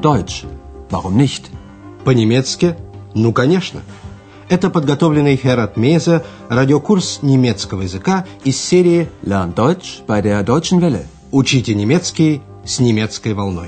Deutsch. Warum nicht? По-немецки? Ну, конечно. Это подготовленный Херат Мейзе радиокурс немецкого языка из серии Lern Deutsch bei der Deutschen Welle. «Учите немецкий с немецкой волной».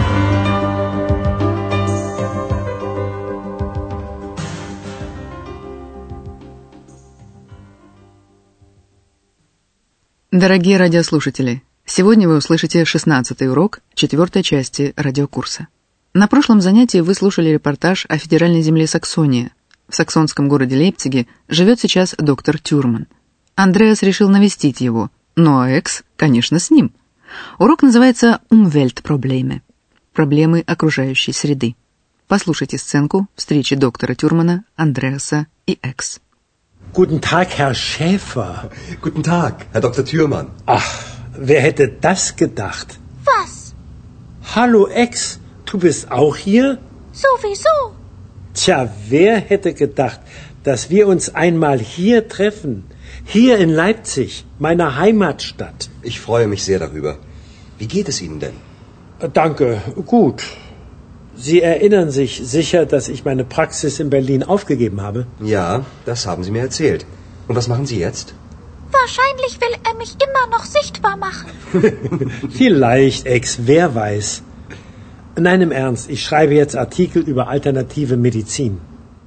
Дорогие радиослушатели, сегодня вы услышите 16-й урок 4-й части радиокурса. На прошлом занятии вы слушали репортаж о федеральной земле Саксония. В саксонском городе Лейпциге живет сейчас доктор Тюрман. Андреас решил навестить его, ну а Экс, конечно, с ним. Урок называется «Umweltprobleme» – проблемы окружающей среды. Послушайте сценку встречи доктора Тюрмана, Андреаса и Экс. Guten Tag, Herr Schäfer. Guten Tag, Herr Dr. Thürmann. Ach, wer hätte das gedacht? Was? Hallo, Ex, du bist auch hier? Sowieso. Tja, wer hätte gedacht, dass wir uns einmal hier treffen? Hier in Leipzig, meiner Heimatstadt. Ich freue mich sehr darüber. Wie geht es Ihnen denn? Danke, gut. Sie erinnern sich sicher, dass ich meine Praxis in Berlin aufgegeben habe? Ja, das haben Sie mir erzählt. Und was machen Sie jetzt? Wahrscheinlich will er mich immer noch sichtbar machen. Vielleicht, Ex, wer weiß. Nein, im Ernst, ich schreibe jetzt Artikel über alternative Medizin.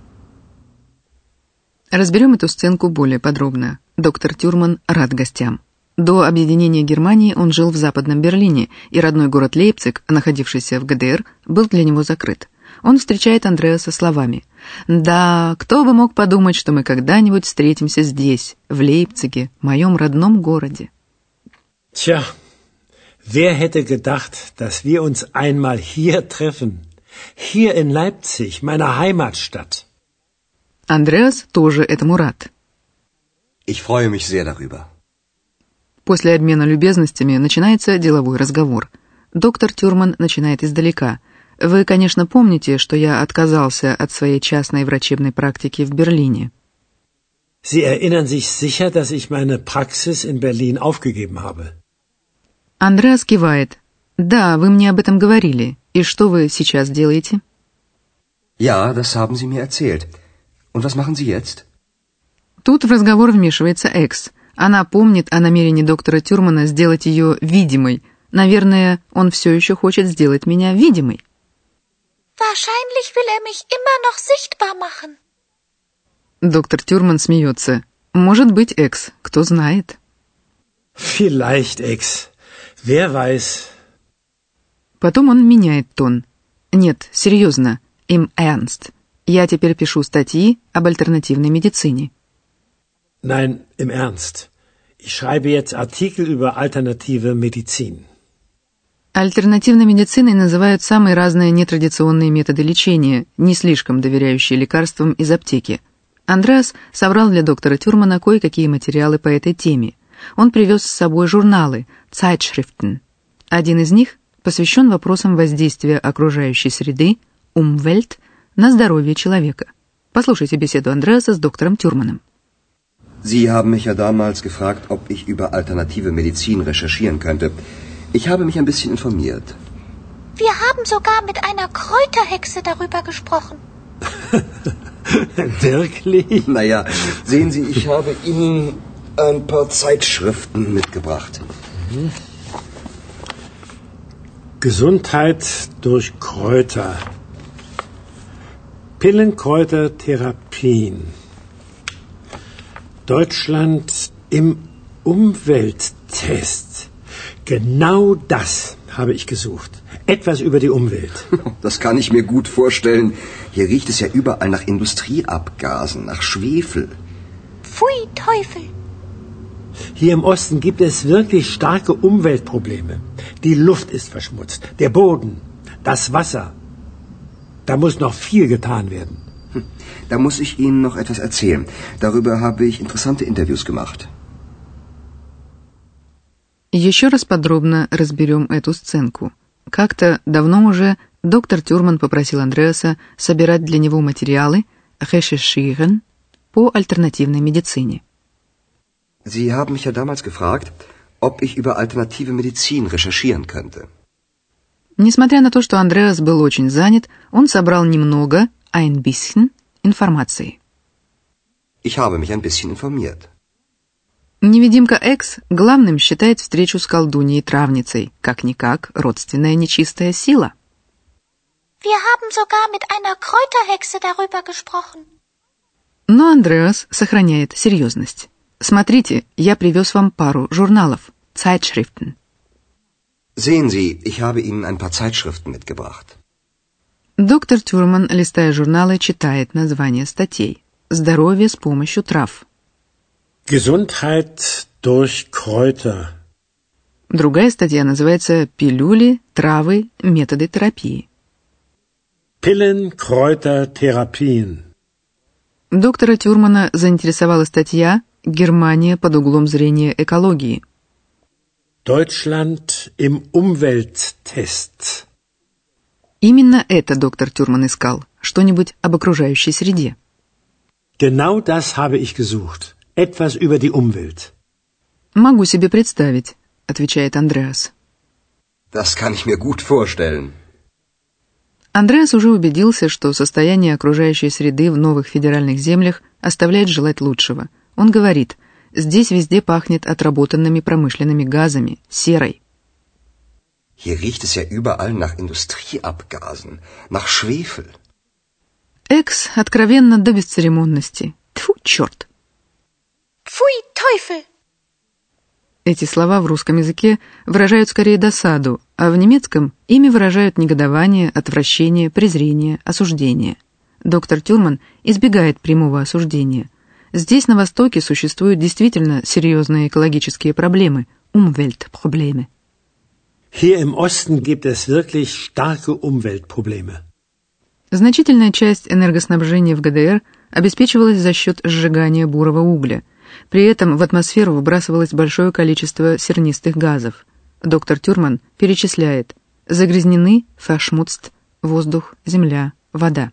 Разберем эту сценку более подробно. Доктор Тюрман рад гостям. До объединения Германии он жил в Западном Берлине, и родной город Лейпциг, находившийся в ГДР, был для него закрыт. Он встречает Андреаса словами: «Да, кто бы мог подумать, что мы когда-нибудь встретимся здесь, в Лейпциге, моем родном городе». Tja, wer hätte gedacht, dass wir uns einmal hier treffen? Hier in Leipzig, meiner Heimatstadt. Андреас тоже этому рад. Ich freue mich sehr darüber. После обмена любезностями начинается деловой разговор. Доктор Тюрман начинает издалека. Вы, конечно, помните, что я отказался от своей частной врачебной практики в Берлине. Sie erinnern sich sicher, dass ich meine Praxis in Berlin aufgegeben habe. Андреас кивает. Да, вы мне об этом говорили. И что вы сейчас делаете? Ja, das haben Sie mir erzählt. Und was machen Sie jetzt? Тут в разговор вмешивается Экс. Она помнит о намерении доктора Тюрмана сделать ее видимой. Наверное, он все еще хочет сделать меня видимой. Wahrscheinlich will er mich immer noch sichtbar machen. Доктор Тюрман смеется. Может быть, Экс, кто знает. Vielleicht, Ex. Wer weiß. Потом он меняет тон. Нет, серьезно, im Ernst. Я теперь пишу статьи об альтернативной медицине. Nein, im Ernst. Ich schreibe jetzt Artikel über alternative Medizin. Альтернативной медициной называют самые разные нетрадиционные методы лечения, не слишком доверяющие лекарствам из аптеки. Андреас собрал для доктора Тюрмана кое-какие материалы по этой теме. Он привез с собой журналы Zeitschriften. Один из них посвящен вопросам воздействия окружающей среды, Umwelt, на здоровье человека. Послушайте беседу Андреаса с доктором Тюрманом. Sie haben mich ja damals gefragt, ob ich über alternative Medizin recherchieren könnte. Ich habe mich ein bisschen informiert. Wir haben sogar mit einer Kräuterhexe darüber gesprochen. Wirklich? Naja, sehen Sie, ich habe Ihnen ein paar Zeitschriften mitgebracht. Gesundheit durch Kräuter. Pillenkräutertherapien. Deutschland im Umwelttest. Genau das habe ich gesucht. Etwas über die Umwelt. Das kann ich mir gut vorstellen. Hier riecht es ja überall nach Industrieabgasen, nach Schwefel. Pfui, Teufel. Hier im Osten gibt es wirklich starke Umweltprobleme. Die Luft ist verschmutzt, der Boden, das Wasser. Da muss noch viel getan werden. Da muss ich Ihnen noch etwas erzählen. Darüber habe ich interessante Interviews gemacht. Еще раз подробно разберем эту сценку. Как-то давно уже доктор Тюрман попросил Андреаса собирать для него материалы «recherchieren» по альтернативной медицине. Sie haben mich ja damals gefragt, ob ich über alternative Medizin recherchieren könnte. Несмотря на то, что Андреас был очень занят, он собрал немного, ein bisschen, информации. Ich habe mich ein bisschen informiert. Невидимка Экс главным считает встречу с колдуньей-травницей, как-никак родственная нечистая сила. Wir haben sogar mit einer Kräuterhexe darüber gesprochen. Но Андреас сохраняет серьезность. Смотрите, я привез вам пару журналов, Zeitschriften. Sehen Sie, ich habe Ihnen ein paar Zeitschriften mitgebracht. Доктор Тюрман, листая журналы, читает названия статей. Здоровье с помощью трав. Gesundheit durch Kräuter. Другая статья называется «Пилюли, травы, методы терапии». Pillen, Kräuter, Therapien. Доктора Тюрмана заинтересовала статья «Германия под углом зрения экологии». Deutschland im Umwelttest. Именно это доктор Тюрман искал, что-нибудь об окружающей среде. Genau das habe ich gesucht. Etwas über die Umwelt. «Могу себе представить», — отвечает Андреас. Das kann ich mir gut vorstellen. Андреас уже убедился, что состояние окружающей среды в новых федеральных землях оставляет желать лучшего. Он говорит, здесь везде пахнет отработанными промышленными газами, серой. Hier riecht es ja überall nach Industrieabgasen, nach Schwefel. Экс откровенно до бесцеремонности. Тьфу, черт! Pfui, Teufel! Эти слова в русском языке выражают скорее досаду, а в немецком ими выражают негодование, отвращение, презрение, осуждение. Доктор Тюрман избегает прямого осуждения. Здесь, на Востоке, существуют действительно серьезные экологические проблемы, Umweltprobleme. Hier im Osten gibt es wirklich starke Umweltprobleme. Значительная часть энергоснабжения в ГДР обеспечивалась за счет сжигания бурого угля. При этом в атмосферу выбрасывалось большое количество сернистых газов. Доктор Тюрман перечисляет: загрязнены, verschmutzt, воздух, земля, вода.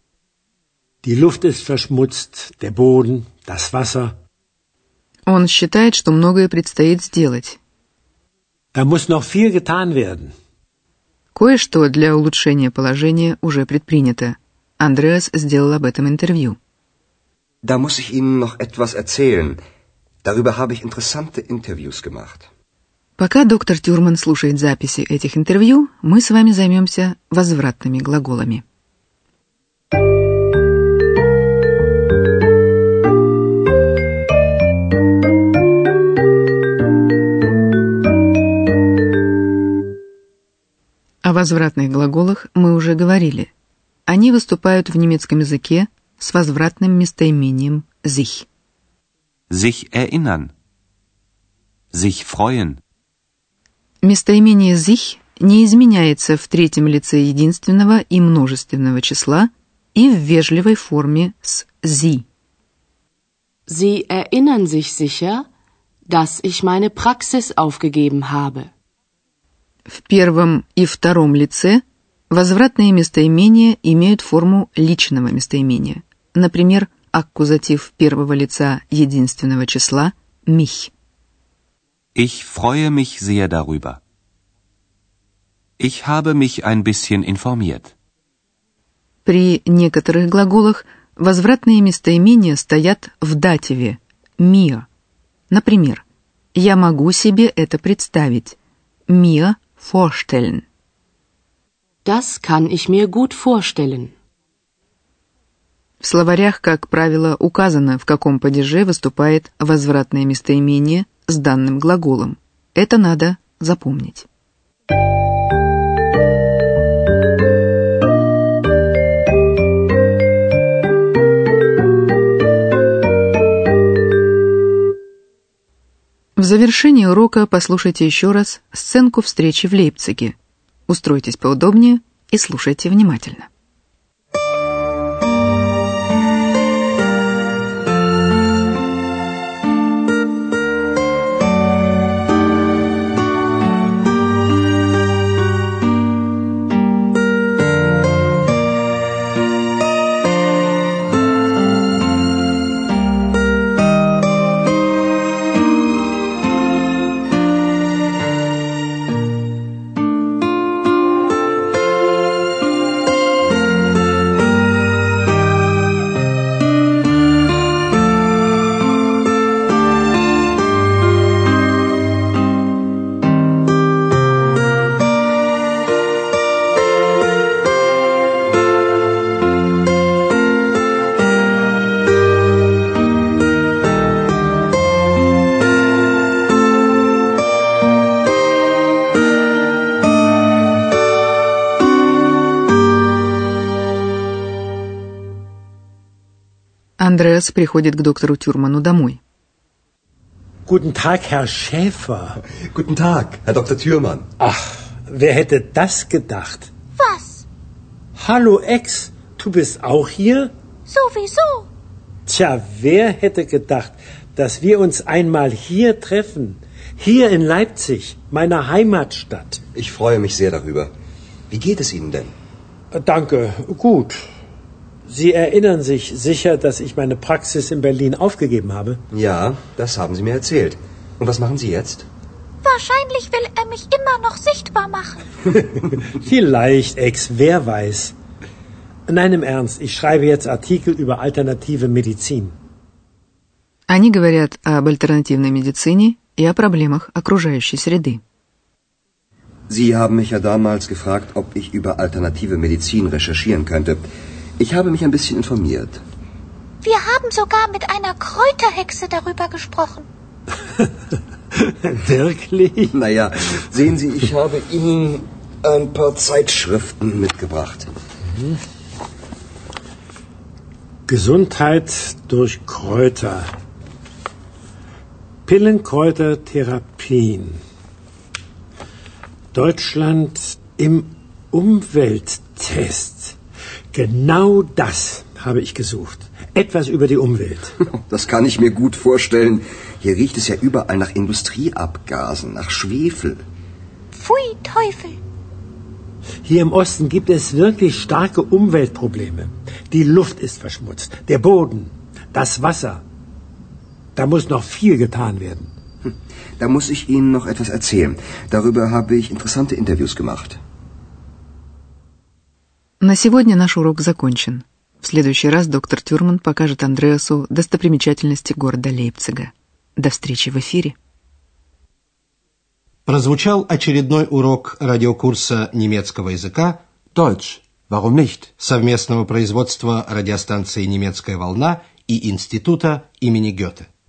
Die Luft ist verschmutzt, der Boden, das Wasser. Он считает, что многое предстоит сделать. Da muss noch viel getan werden. Кое-что для улучшения положения уже предпринято. Андреас сделал об этом интервью. Da muss ich Ihnen noch etwas erzählen. Darüber habe ich interessante Interviews gemacht. Пока доктор Тюрман слушает записи этих интервью, мы с вами займемся возвратными глаголами. О возвратных глаголах мы уже говорили. Они выступают в немецком языке с возвратным местоимением sich. Sich erinnern. Sich freuen. Местоимение sich не изменяется в третьем лице единственного и множественного числа и в вежливой форме с Sie. Sie erinnern sich sicher, dass ich meine Praxis aufgegeben habe. В первом и втором лице возвратные местоимения имеют форму личного местоимения. Например, аккузатив первого лица единственного числа mich. Ich freue mich sehr darüber. Ich habe mich ein bisschen informiert. При некоторых глаголах возвратные местоимения стоят в дативе mir. Например, я могу себе это представить. Mir vorstellen. Das kann ich mir gut vorstellen. В словарях, как правило, указано, в каком падеже выступает возвратное местоимение с данным глаголом. Это надо запомнить. В завершении урока послушайте еще раз сценку встречи в Лейпциге. Устройтесь поудобнее и слушайте внимательно. Андреас приходит к доктору Тюрману домой. Guten Tag, Herr Schäfer. Guten Tag, Herr Dr. Thürmann. Ach, wer hätte das gedacht? Was? Hallo Ex, du bist auch hier? Sowieso. Tja, wer hätte gedacht, dass wir uns einmal hier treffen? Hier in Leipzig, meiner Heimatstadt. Ich freue mich sehr darüber. Wie geht es Ihnen denn? Danke, gut. Sie erinnern sich sicher, dass ich meine Praxis in Berlin aufgegeben habe? Ja, das haben Sie mir erzählt. Und was machen Sie jetzt? Wahrscheinlich will er mich immer noch sichtbar machen. Vielleicht, Ex, wer weiß. Nein, im Ernst, ich schreibe jetzt Artikel über alternative Medizin. Они говорят об альтернативной медицине и о проблемах окружающей среды. Sie haben mich ja damals gefragt, ob ich über alternative Medizin recherchieren könnte. Ich habe mich ein bisschen informiert. Wir haben sogar mit einer Kräuterhexe darüber gesprochen. Wirklich? Naja, sehen Sie, ich habe Ihnen ein paar Zeitschriften mitgebracht. Gesundheit durch Kräuter. Pillenkräutertherapien. Deutschland im Umwelttest. Genau das habe ich gesucht. Etwas über die Umwelt. Das kann ich mir gut vorstellen. Hier riecht es ja überall nach Industrieabgasen, nach Schwefel. Pfui, Teufel. Hier im Osten gibt es wirklich starke Umweltprobleme. Die Luft ist verschmutzt, der Boden, das Wasser. Da muss noch viel getan werden. Da muss ich Ihnen noch etwas erzählen. Darüber habe ich interessante Interviews gemacht. На сегодня наш урок закончен. В следующий раз доктор Тюрман покажет Андреасу достопримечательности города Лейпцига. До встречи в эфире. Прозвучал очередной урок радиокурса немецкого языка Deutsch. Warum nicht? совместного производства радиостанции «Немецкая волна» и Института имени Гёте.